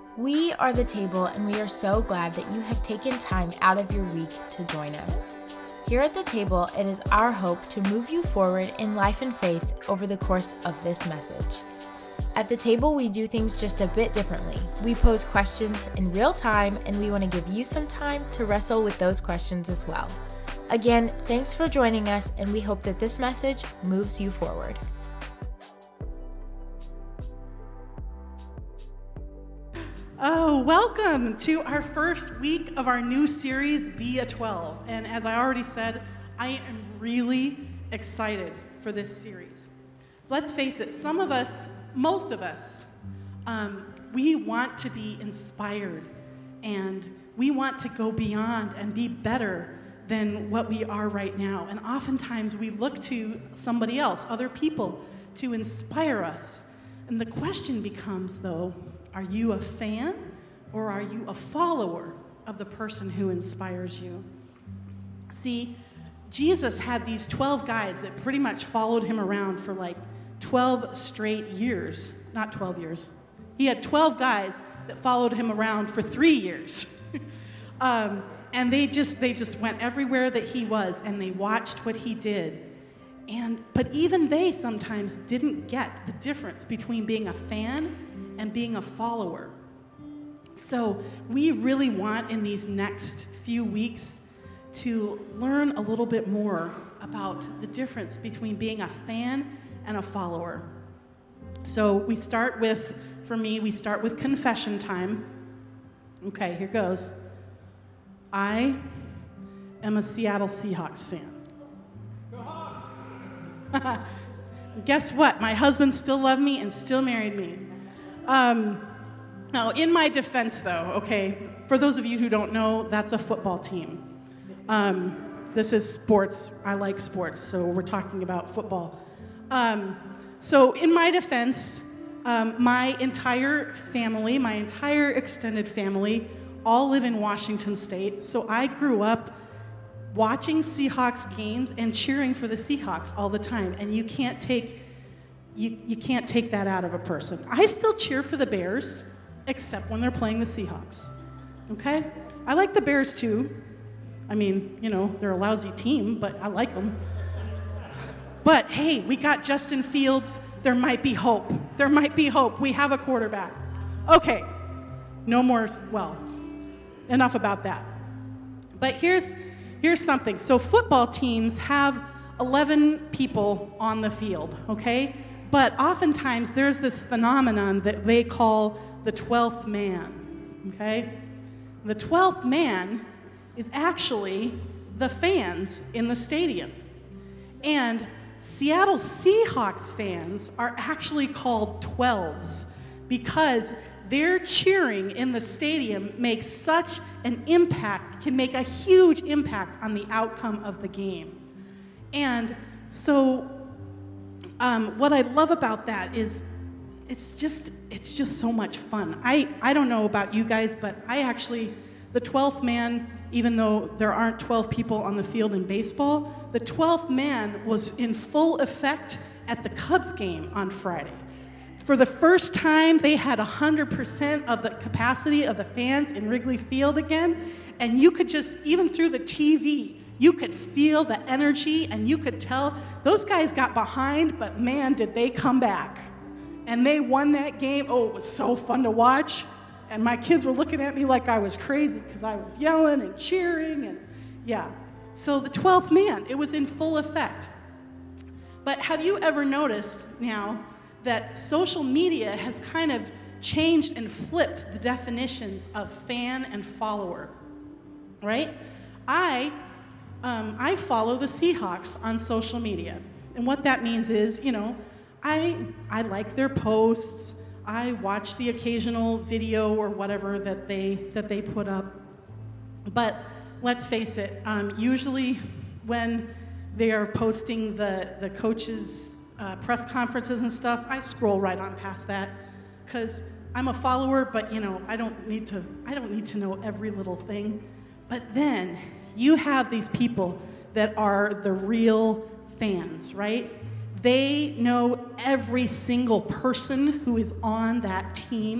We are The Table, and we are so glad that you have taken time out of your week to join us. Here at The Table, it is our hope to move you forward in life and faith over the course of this message. At The Table, we do things just a bit differently. We pose questions in real time, and we want to give you some time to wrestle with those questions as well. Again, thanks for joining us, and we hope that this message moves you forward. Oh, welcome to our first week of our new series, Be a 12. And as I already said, I am really excited for this series. Let's face it, most of us, we want to be inspired, and we want to go beyond and be better than what we are right now. And oftentimes we look to somebody else, other people, to inspire us. And the question becomes, though, are you a fan or are you a follower of the person who inspires you? See, Jesus had these 12 guys that pretty much followed him around for like 12 straight years. Not 12 years. He had 12 guys that followed him around for 3 years. And they just went everywhere that he was, and they watched what he did. But even they sometimes didn't get the difference between being a fan and being a follower. So we really want in these next few weeks to learn a little bit more about the difference between being a fan and a follower. So we start with confession time. Okay, here goes. I am a Seattle Seahawks fan. Guess what? My husband still loved me and still married me. Now, in my defense, though, okay, for those of you who don't know, that's a football team. This is sports. I like sports, so we're talking about football. So in my defense, my entire family, my entire extended family, all live in Washington State. So I grew up watching Seahawks games and cheering for the Seahawks all the time. And you can't take that out of a person. I still cheer for the Bears, except when they're playing the Seahawks. Okay? I like the Bears too. I mean, they're a lousy team, but I like them. But hey, we got Justin Fields. There might be hope. There might be hope. We have a quarterback. Okay. No more, enough about that. But here's something. So football teams have 11 people on the field, okay? But oftentimes there's this phenomenon that they call the 12th man, okay? The 12th man is actually the fans in the stadium. And Seattle Seahawks fans are actually called 12s because their cheering in the stadium makes such an impact, can make a huge impact on the outcome of the game. And so what I love about that is it's just so much fun. I don't know about you guys, but the 12th man, even though there aren't 12 people on the field in baseball, the 12th man was in full effect at the Cubs game on Friday. For the first time, they had 100% of the capacity of the fans in Wrigley Field again, and you could just, even through the TV, you could feel the energy, and you could tell those guys got behind, but man, did they come back. And they won that game. Oh, it was so fun to watch. And my kids were looking at me like I was crazy because I was yelling and cheering, and yeah. So the 12th man, it was in full effect. But have you ever noticed now that social media has kind of changed and flipped the definitions of fan and follower, right? I follow the Seahawks on social media. And what that means is, I like their posts. I watch the occasional video or whatever that they put up. But let's face it, usually when they are posting the coaches' press conferences and stuff, I scroll right on past that because I'm a follower, but I don't need to know every little thing. But then you have these people that are the real fans, right? They know every single person who is on that team,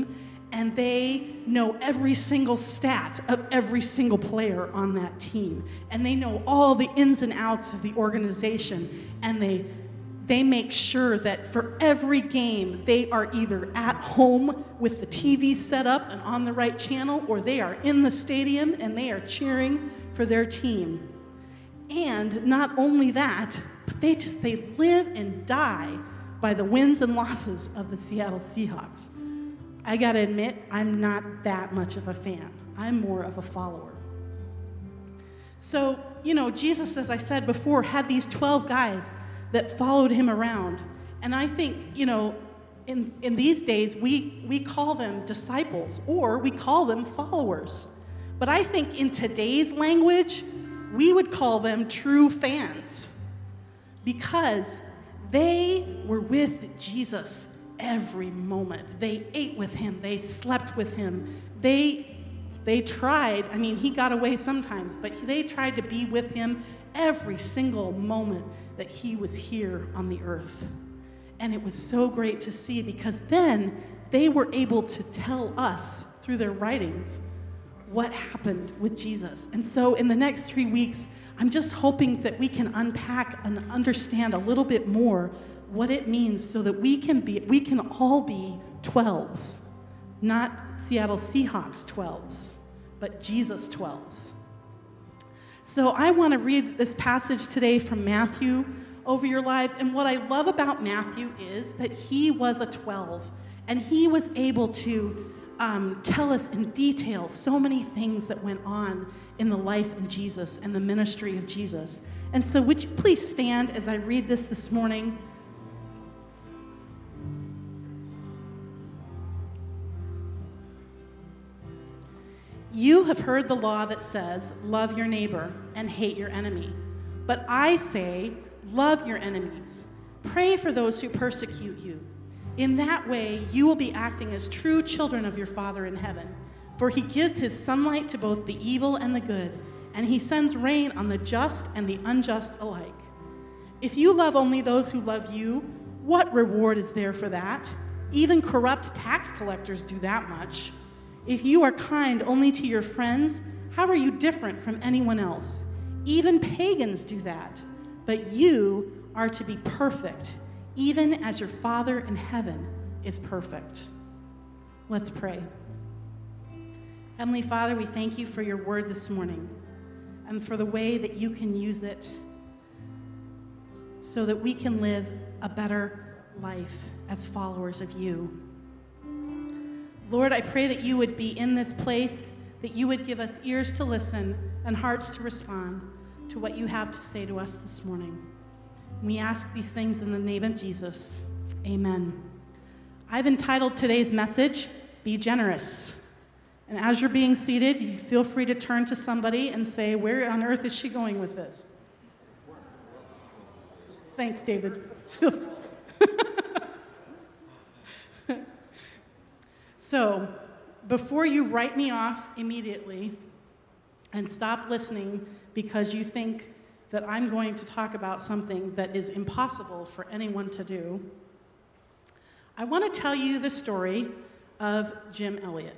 and they know every single stat of every single player on that team. And they know all the ins and outs of the organization. And they make sure that for every game, they are either at home with the TV set up and on the right channel, or they are in the stadium and they are cheering for their team. And not only that, but they live and die by the wins and losses of the Seattle Seahawks. I gotta admit, I'm not that much of a fan. I'm more of a follower. So, Jesus, as I said before, had these 12 guys that followed him around. And I think, in these days, we call them disciples, or we call them followers. But I think in today's language, we would call them true fans, because they were with Jesus every moment. They ate with him. They slept with him. They tried. He got away sometimes, but they tried to be with him every single moment that he was here on the earth. And it was so great to see, because then they were able to tell us through their writings what happened with Jesus. And so in the next 3 weeks, I'm just hoping that we can unpack and understand a little bit more what it means, so that we can all be 12s, not Seattle Seahawks 12s, but Jesus 12s. So I want to read this passage today from Matthew over your lives. And what I love about Matthew is that he was a 12, and he was able to tell us in detail so many things that went on in the life of Jesus and the ministry of Jesus. And so would you please stand as I read this morning? You have heard the law that says, love your neighbor and hate your enemy. But I say, love your enemies. Pray for those who persecute you. In that way, you will be acting as true children of your Father in heaven. For he gives his sunlight to both the evil and the good, and he sends rain on the just and the unjust alike. If you love only those who love you, what reward is there for that? Even corrupt tax collectors do that much. If you are kind only to your friends, how are you different from anyone else? Even pagans do that. But you are to be perfect, even as your Father in heaven is perfect. Let's pray. Heavenly Father, we thank you for your word this morning, and for the way that you can use it so that we can live a better life as followers of you. Lord, I pray that you would be in this place, that you would give us ears to listen and hearts to respond to what you have to say to us this morning. We ask these things in the name of Jesus. Amen. I've entitled today's message, Be Generous. And as you're being seated, you feel free to turn to somebody and say, where on earth is she going with this? Thanks, David. So, before you write me off immediately and stop listening because you think that I'm going to talk about something that is impossible for anyone to do, I want to tell you the story of Jim Elliot.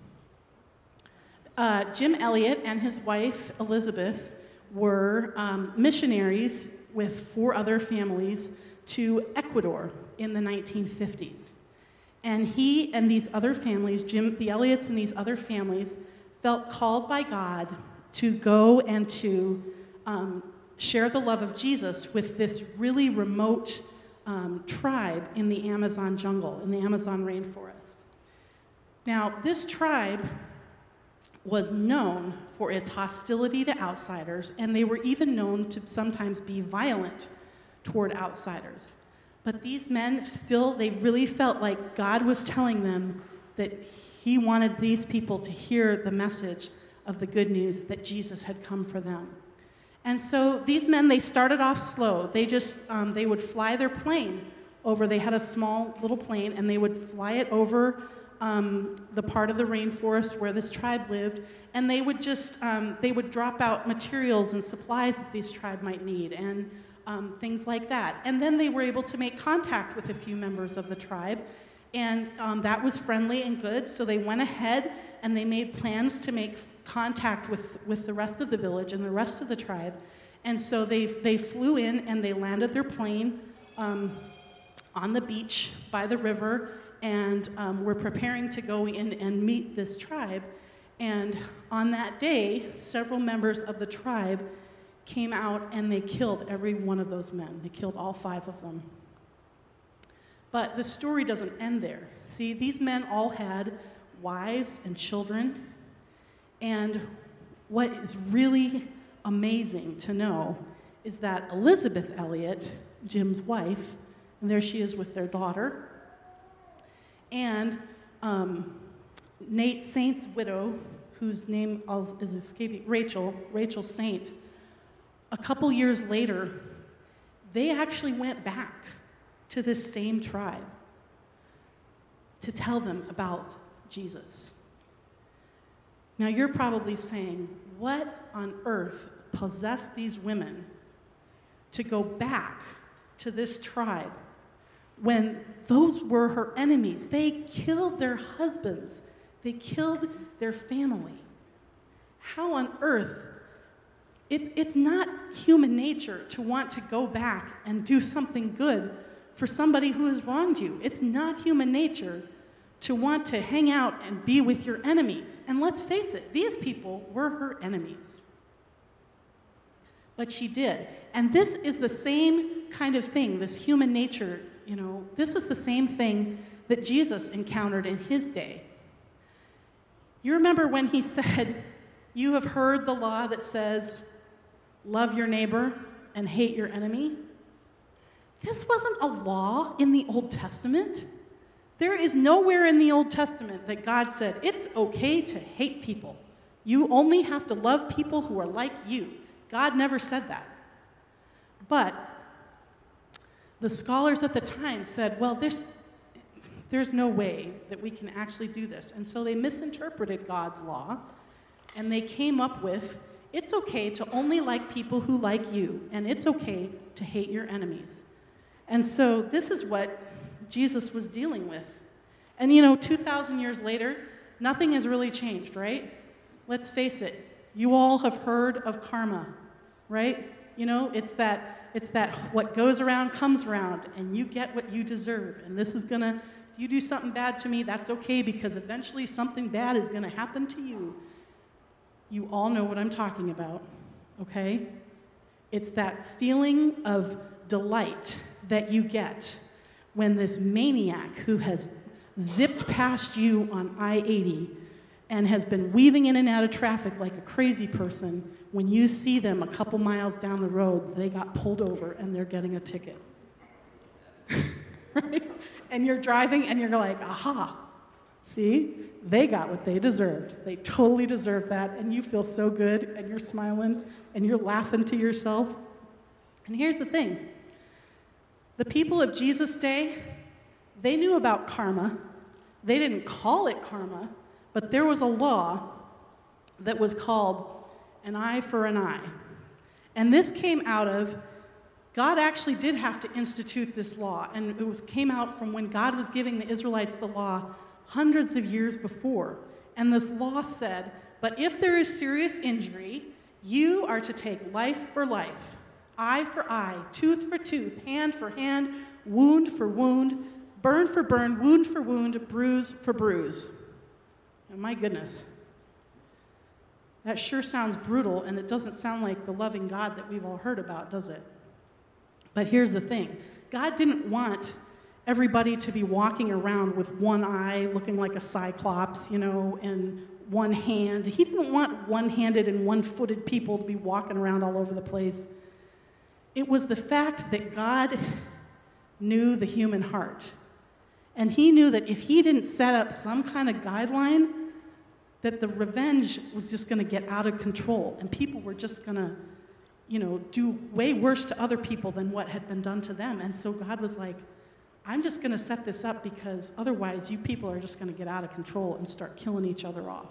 Jim Elliot and his wife, Elizabeth, were missionaries with 4 other families to Ecuador in the 1950s. And he and these other families, the Elliots and these other families, felt called by God to go and to share the love of Jesus with this really remote tribe in the Amazon jungle, in the Amazon rainforest. Now, this tribe was known for its hostility to outsiders, and they were even known to sometimes be violent toward outsiders. But these men they really felt like God was telling them that he wanted these people to hear the message of the good news that Jesus had come for them. And so these men, they started off slow. They would fly their plane over. They had a small little plane, and they would fly it over the part of the rainforest where this tribe lived, and they would drop out materials and supplies that this tribe might need, and things like that. And then they were able to make contact with a few members of the tribe, And that was friendly and good, so they went ahead and they made plans to make contact with the rest of the village and the rest of the tribe. And so they flew in and they landed their plane on the beach by the river, and were preparing to go in and meet this tribe. And on that day, several members of the tribe came out and they killed every one of those men. They killed all 5 of them. But the story doesn't end there. See, these men all had wives and children. And what is really amazing to know is that Elizabeth Elliot, Jim's wife, and there she is with their daughter, and Nate Saint's widow, whose name is escaping, Rachel Saint, a couple years later, they actually went back to this same tribe to tell them about Jesus. Now you're probably saying, what on earth possessed these women to go back to this tribe when those were her enemies? They killed their husbands. They killed their family. How on earth? It's not human nature to want to go back and do something good for somebody who has wronged you. It's not human nature to want to hang out and be with your enemies. And let's face it, these people were her enemies. But she did. And this is the same kind of thing, this human nature, this is the same thing that Jesus encountered in his day. You remember when he said, "You have heard the law that says, love your neighbor and hate your enemy"? This wasn't a law in the Old Testament. There is nowhere in the Old Testament that God said, it's okay to hate people. You only have to love people who are like you. God never said that. But the scholars at the time said, well, there's no way that we can actually do this. And so they misinterpreted God's law, and they came up with, it's okay to only like people who like you, and it's okay to hate your enemies. And so this is what Jesus was dealing with. And 2,000 years later, nothing has really changed, right? Let's face it. You all have heard of karma, right? It's that what goes around comes around, and you get what you deserve. And this is if you do something bad to me, that's okay, because eventually something bad is gonna happen to you. You all know what I'm talking about, okay? It's that feeling of delight that you get when this maniac who has zipped past you on I-80 and has been weaving in and out of traffic like a crazy person, when you see them a couple miles down the road, they got pulled over and they're getting a ticket. Right? And you're driving and you're like, aha, see? They got what they deserved. They totally deserved that, and you feel so good, and you're smiling, and you're laughing to yourself. And here's the thing. The people of Jesus' day, they knew about karma. They didn't call it karma, but there was a law that was called an eye for an eye. And this came out of, God actually did have to institute this law, and it came out from when God was giving the Israelites the law hundreds of years before. And this law said, but if there is serious injury, you are to take life for life, eye for eye, tooth for tooth, hand for hand, wound for wound, burn for burn, wound for wound, bruise for bruise. And my goodness, that sure sounds brutal, and it doesn't sound like the loving God that we've all heard about, does it? But here's the thing. God didn't want everybody to be walking around with one eye looking like a cyclops, and one hand. He didn't want one-handed and one-footed people to be walking around all over the place. It was the fact that God knew the human heart. And he knew that if he didn't set up some kind of guideline, that the revenge was just going to get out of control, and people were just going to, do way worse to other people than what had been done to them. And so God was like, I'm just going to set this up, because otherwise you people are just going to get out of control and start killing each other off.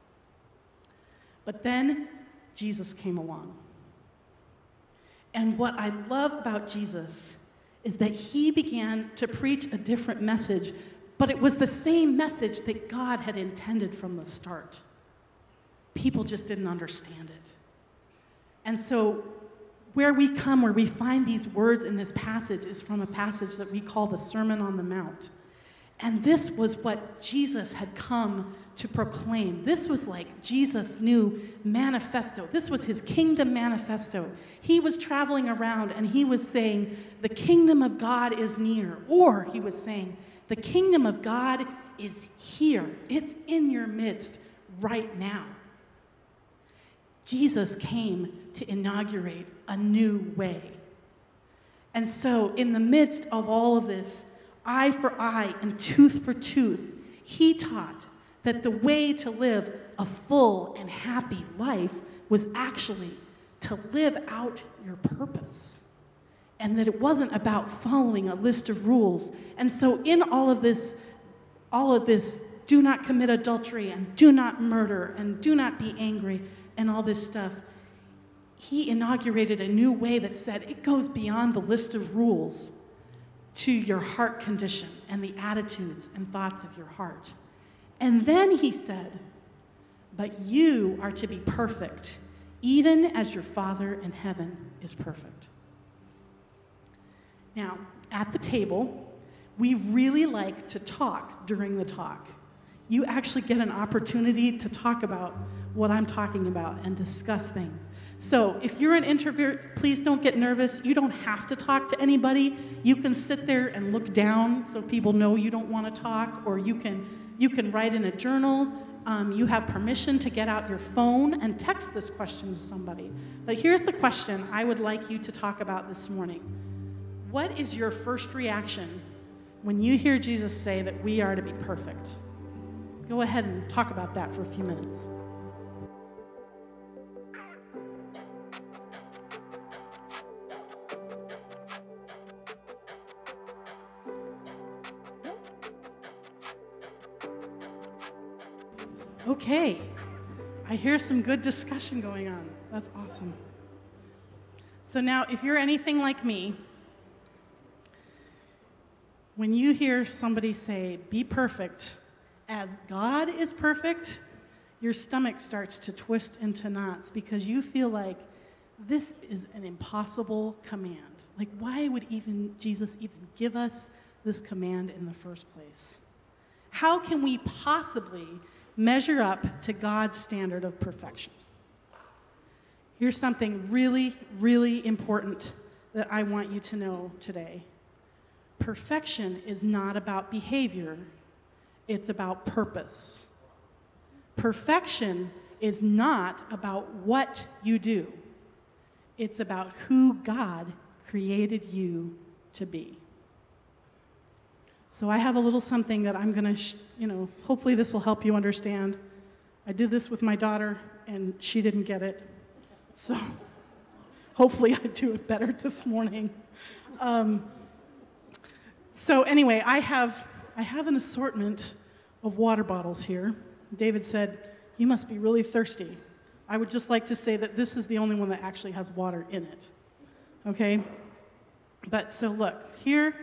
But then Jesus came along. And what I love about Jesus is that he began to preach a different message, But it was the same message that God had intended from the start. People just didn't understand it. And so where we find these words in this passage is from a passage that we call the Sermon on the Mount. And this was what Jesus had come to proclaim. This was like Jesus' new manifesto. This was his kingdom manifesto. He was traveling around and he was saying, the kingdom of God is near. Or he was saying, the kingdom of God is here. It's in your midst right now. Jesus came to inaugurate a new way. And so in the midst of all of this, eye for eye and tooth for tooth, he taught that the way to live a full and happy life was actually to live out your purpose. And that it wasn't about following a list of rules. And so in all of this, do not commit adultery and do not murder and do not be angry and all this stuff, he inaugurated a new way that said it goes beyond the list of rules to your heart condition and the attitudes and thoughts of your heart. And then he said, but you are to be perfect, even as your Father in heaven is perfect. Now, at the table, we really like to talk during the talk. You actually get an opportunity to talk about what I'm talking about and discuss things. So if you're an introvert, please don't get nervous. You don't have to talk to anybody. You can sit there and look down so people know you don't want to talk, or you can write in a journal. You have permission to get out your phone and text this question to somebody. But here's the question I would like you to talk about this morning. What is your first reaction when you hear Jesus say that we are to be perfect? Go ahead and talk about that for a few minutes. Okay, I hear some good discussion going on. That's awesome. So now, if you're anything like me, when you hear somebody say, be perfect as God is perfect, your stomach starts to twist into knots because you feel like this is an impossible command. Like, why would Jesus even give us this command in the first place? How can we possibly measure up to God's standard of perfection? Here's something really, really important that I want you to know today. Perfection is not about behavior, it's about purpose. Perfection is not about what you do, it's about who God created you to be. So I have a little something that I'm going to, hopefully this will help you understand. I did this with my daughter, and she didn't get it. So hopefully I do it better this morning. So anyway, I have an assortment of water bottles here. David said, you must be really thirsty. I would just like to say that this is the only one that actually has water in it. Okay? But so look, here,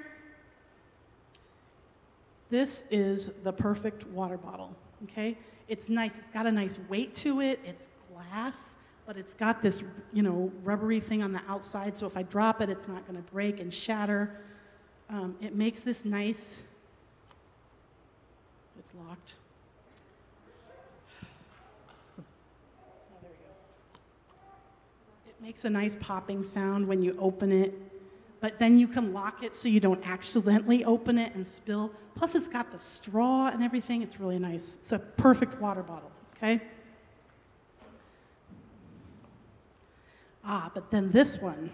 this is the perfect water bottle, okay? It's nice. It's got a nice weight to it. It's glass, but it's got this, rubbery thing on the outside, so if I drop it, it's not going to break and shatter. It makes this nice... It's locked. Oh, there we go. It makes a nice popping sound when you open it. But then you can lock it so you don't accidentally open it and spill. Plus, it's got the straw and everything. It's really nice. It's a perfect water bottle, okay? But then this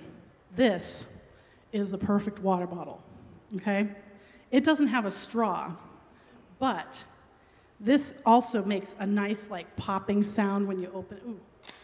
is the perfect water bottle, okay? It doesn't have a straw, but this also makes a nice, popping sound when you open it. Ooh.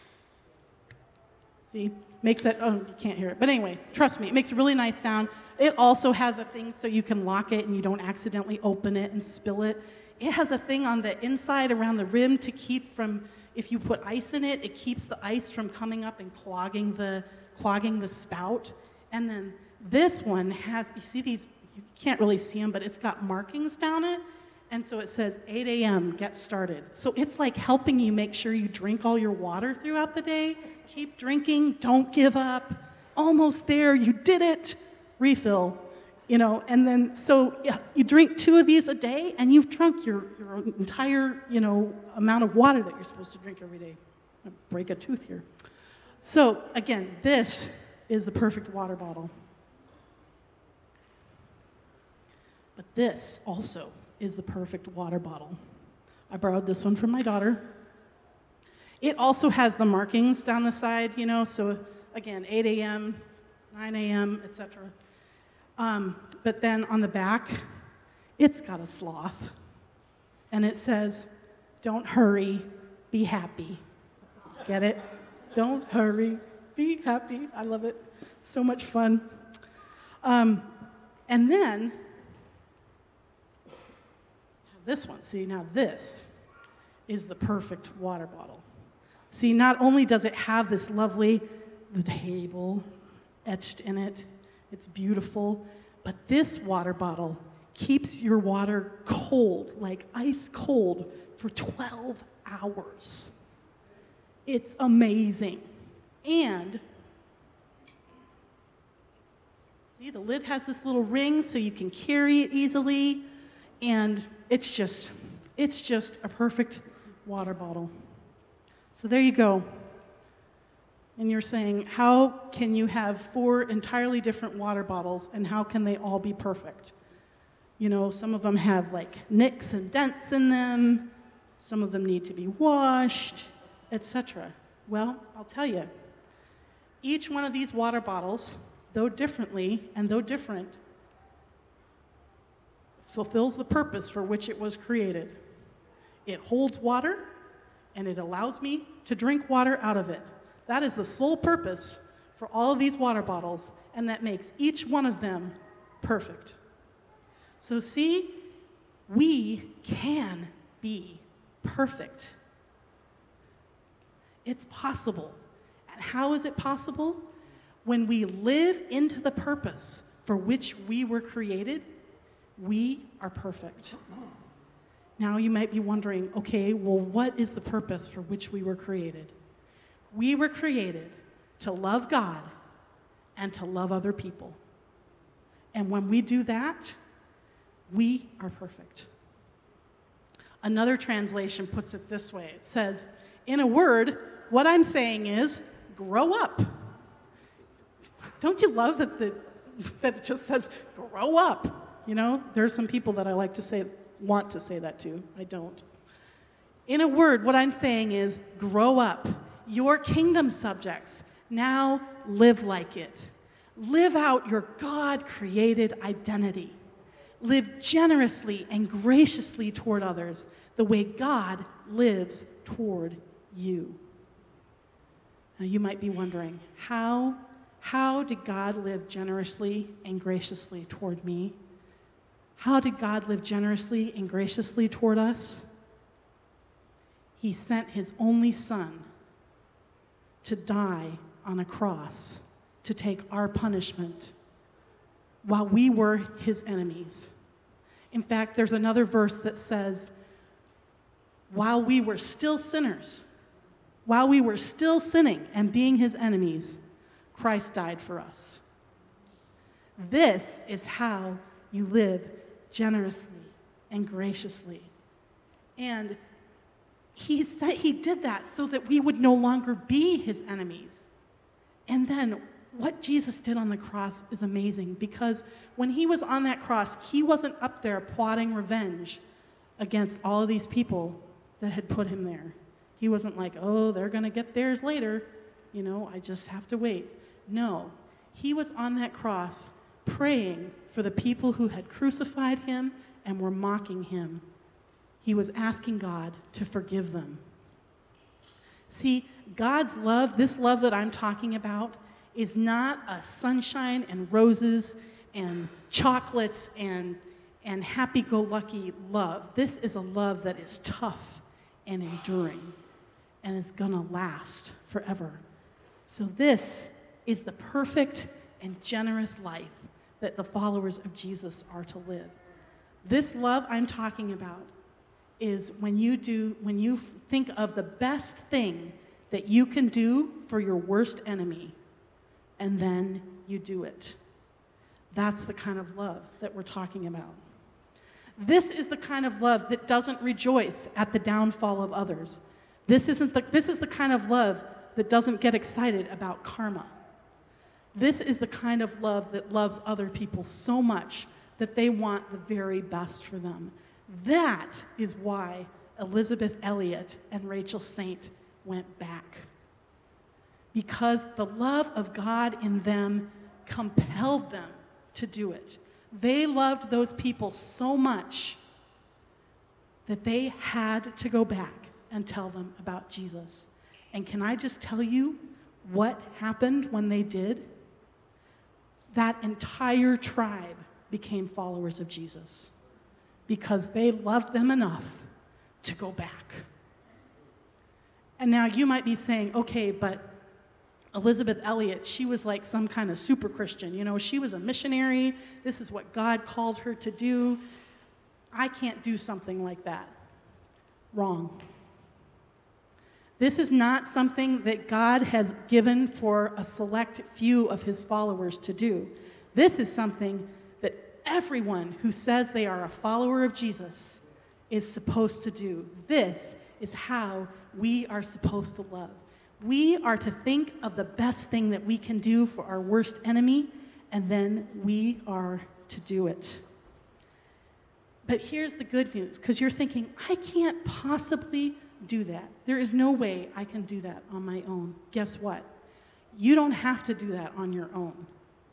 See? Makes that, you can't hear it. But anyway, trust me, it makes a really nice sound. It also has a thing so you can lock it and you don't accidentally open it and spill it. It has a thing on the inside around the rim to keep from, if you put ice in it, it keeps the ice from coming up and clogging the spout. And then this one has, you see these, you can't really see them, but it's got markings down it. And so it says 8 a.m., get started. So it's like helping you make sure you drink all your water throughout the day. Keep drinking, don't give up. Almost there, you did it. Refill, and then so yeah, you drink 2 of these a day, and you've drunk your entire, amount of water that you're supposed to drink every day. I break a tooth here. So again, this is the perfect water bottle. But this also is the perfect water bottle. I borrowed this one from my daughter. It also has the markings down the side, so again, 8 a.m., 9 a.m., etc. But then on the back, it's got a sloth. And it says, don't hurry, be happy. Get it? Don't hurry, be happy. I love it. So much fun. And then, this one. See, now this is the perfect water bottle. See, not only does it have this lovely, the table etched in it, it's beautiful, but this water bottle keeps your water cold, like ice cold, for 12 hours. It's amazing. And, see, the lid has this little ring so you can carry it easily, and it's just a perfect water bottle. So there you go. And you're saying, how can you have 4 entirely different water bottles, and how can they all be perfect? Some of them have like nicks and dents in them. Some of them need to be washed, etc. Well, I'll tell you, each one of these water bottles, though differently and though different, fulfills the purpose for which it was created. It holds water, and it allows me to drink water out of it. That is the sole purpose for all of these water bottles, and that makes each one of them perfect. So see, we can be perfect. It's possible. And how is it possible? When we live into the purpose for which we were created, we are perfect. Now you might be wondering, okay, well, what is the purpose for which we were created? We were created to love God and to love other people. And when we do that, we are perfect. Another translation puts it this way. It says, in a word, what I'm saying is, grow up. Don't you love that it just says, grow up? There's some people that I like to say, want to say that to. I don't. In a word, what I'm saying is, grow up. Your kingdom subjects, now live like it. Live out your God-created identity. Live generously and graciously toward others the way God lives toward you. Now you might be wondering, how did God live generously and graciously toward me? How did God live generously and graciously toward us? He sent his only Son to die on a cross to take our punishment while we were his enemies. In fact, there's another verse that says, while we were still sinners, while we were still sinning and being his enemies, Christ died for us. This is how you live generously and graciously. And he said he did that so that we would no longer be his enemies. And then what Jesus did on the cross is amazing, because when he was on that cross, he wasn't up there plotting revenge against all of these people that had put him there. He wasn't like, oh, they're going to get theirs later. I just have to wait. No, he was on that cross praying for the people who had crucified him and were mocking him. He was asking God to forgive them. See, God's love, this love that I'm talking about, is not a sunshine and roses and chocolates and happy-go-lucky love. This is a love that is tough and enduring and is going to last forever. So this is the perfect and generous life that the followers of Jesus are to live. This love I'm talking about is when you think of the best thing that you can do for your worst enemy, and then you do it. That's the kind of love that we're talking about. This is the kind of love that doesn't rejoice at the downfall of others. This is the kind of love that doesn't get excited about karma. This is the kind of love that loves other people so much that they want the very best for them. That is why Elisabeth Elliot and Rachel Saint went back. Because the love of God in them compelled them to do it. They loved those people so much that they had to go back and tell them about Jesus. And can I just tell you what happened when they did? That entire tribe became followers of Jesus because they loved them enough to go back. And now you might be saying, okay, but Elisabeth Elliot, she was like some kind of super Christian. You know, she was a missionary. This is what God called her to do. I can't do something like that. Wrong. This is not something that God has given for a select few of his followers to do. This is something that everyone who says they are a follower of Jesus is supposed to do. This is how we are supposed to love. We are to think of the best thing that we can do for our worst enemy, and then we are to do it. But here's the good news, because you're thinking, I can't possibly do that. There is no way I can do that on my own. Guess what? You don't have to do that on your own.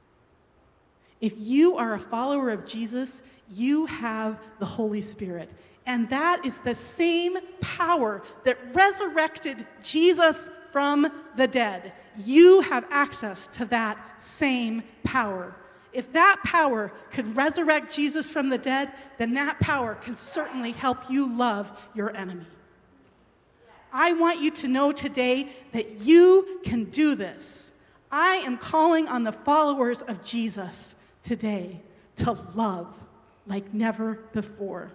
If you are a follower of Jesus, you have the Holy Spirit. And that is the same power that resurrected Jesus from the dead. You have access to that same power. If that power could resurrect Jesus from the dead, then that power can certainly help you love your enemy. I want you to know today that you can do this. I am calling on the followers of Jesus today to love like never before.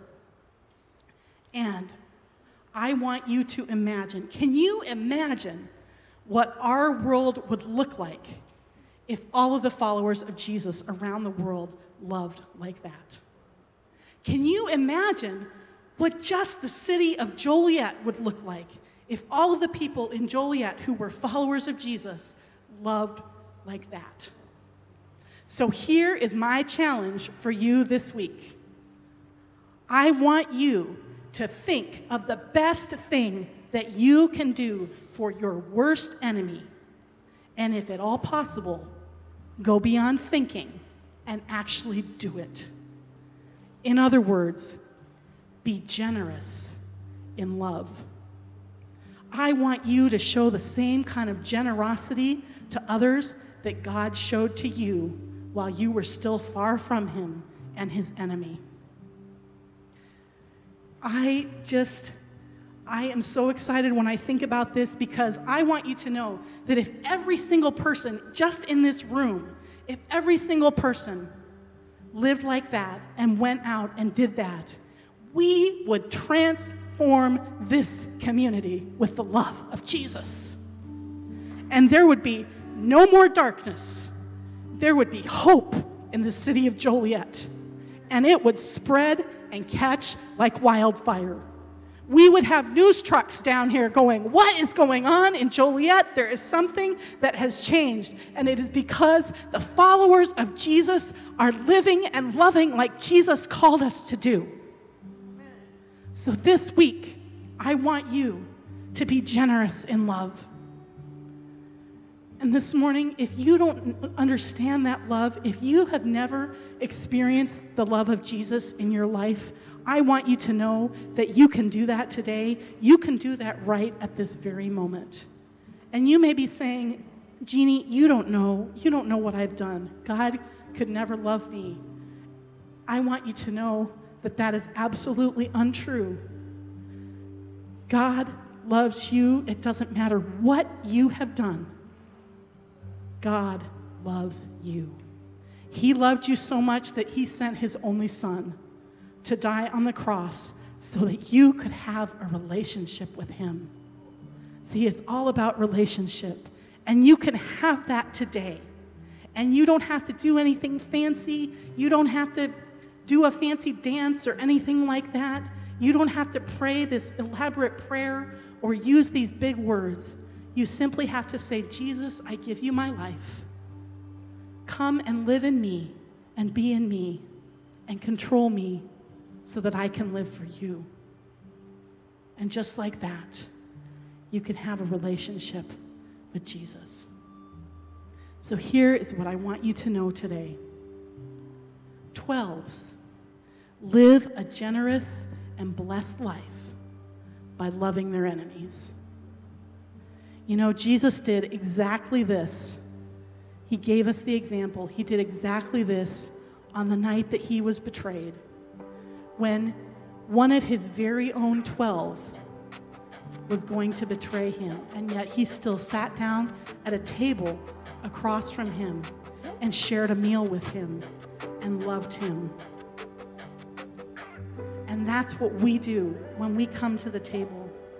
And I want you to imagine, can you imagine what our world would look like if all of the followers of Jesus around the world loved like that? Can you imagine what just the city of Joliet would look like if all of the people in Joliet who were followers of Jesus loved like that? So here is my challenge for you this week. I want you to think of the best thing that you can do for your worst enemy. And if at all possible, go beyond thinking and actually do it. In other words, be generous in love. I want you to show the same kind of generosity to others that God showed to you while you were still far from him and his enemy. I am so excited when I think about this, because I want you to know that if every single person just in this room, if every single person lived like that and went out and did that, we would transform this community with the love of Jesus. And there would be no more darkness. There would be hope in the city of Joliet. And it would spread and catch like wildfire. We would have news trucks down here going, what is going on in Joliet? There is something that has changed. And it is because the followers of Jesus are living and loving like Jesus called us to do. So this week, I want you to be generous in love. And this morning, if you don't understand that love, if you have never experienced the love of Jesus in your life, I want you to know that you can do that today. You can do that right at this very moment. And you may be saying, Jeannie, you don't know what I've done. God could never love me. I want you to know that that is absolutely untrue. God loves you. It doesn't matter what you have done. God loves you. He loved you so much that he sent his only son to die on the cross so that you could have a relationship with him. See, it's all about relationship, and you can have that today. And you don't have to do anything fancy. You don't have to do a fancy dance or anything like that. You don't have to pray this elaborate prayer or use these big words. You simply have to say, Jesus, I give you my life. Come and live in me and be in me and control me so that I can live for you. And just like that, you can have a relationship with Jesus. So here is what I want you to know today. 12s, live a generous and blessed life by loving their enemies. You know, Jesus did exactly this. He gave us the example. He did exactly this on the night that he was betrayed, when one of his very own 12 was going to betray him, and yet he still sat down at a table across from him and shared a meal with him and loved him. And that's what we do when we come to the table.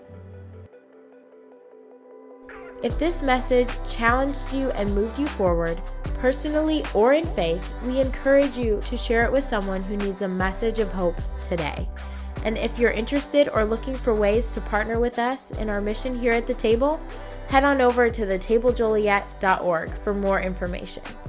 If this message challenged you and moved you forward, personally or in faith, we encourage you to share it with someone who needs a message of hope today. And if you're interested or looking for ways to partner with us in our mission here at the table, head on over to thetablejoliet.org for more information.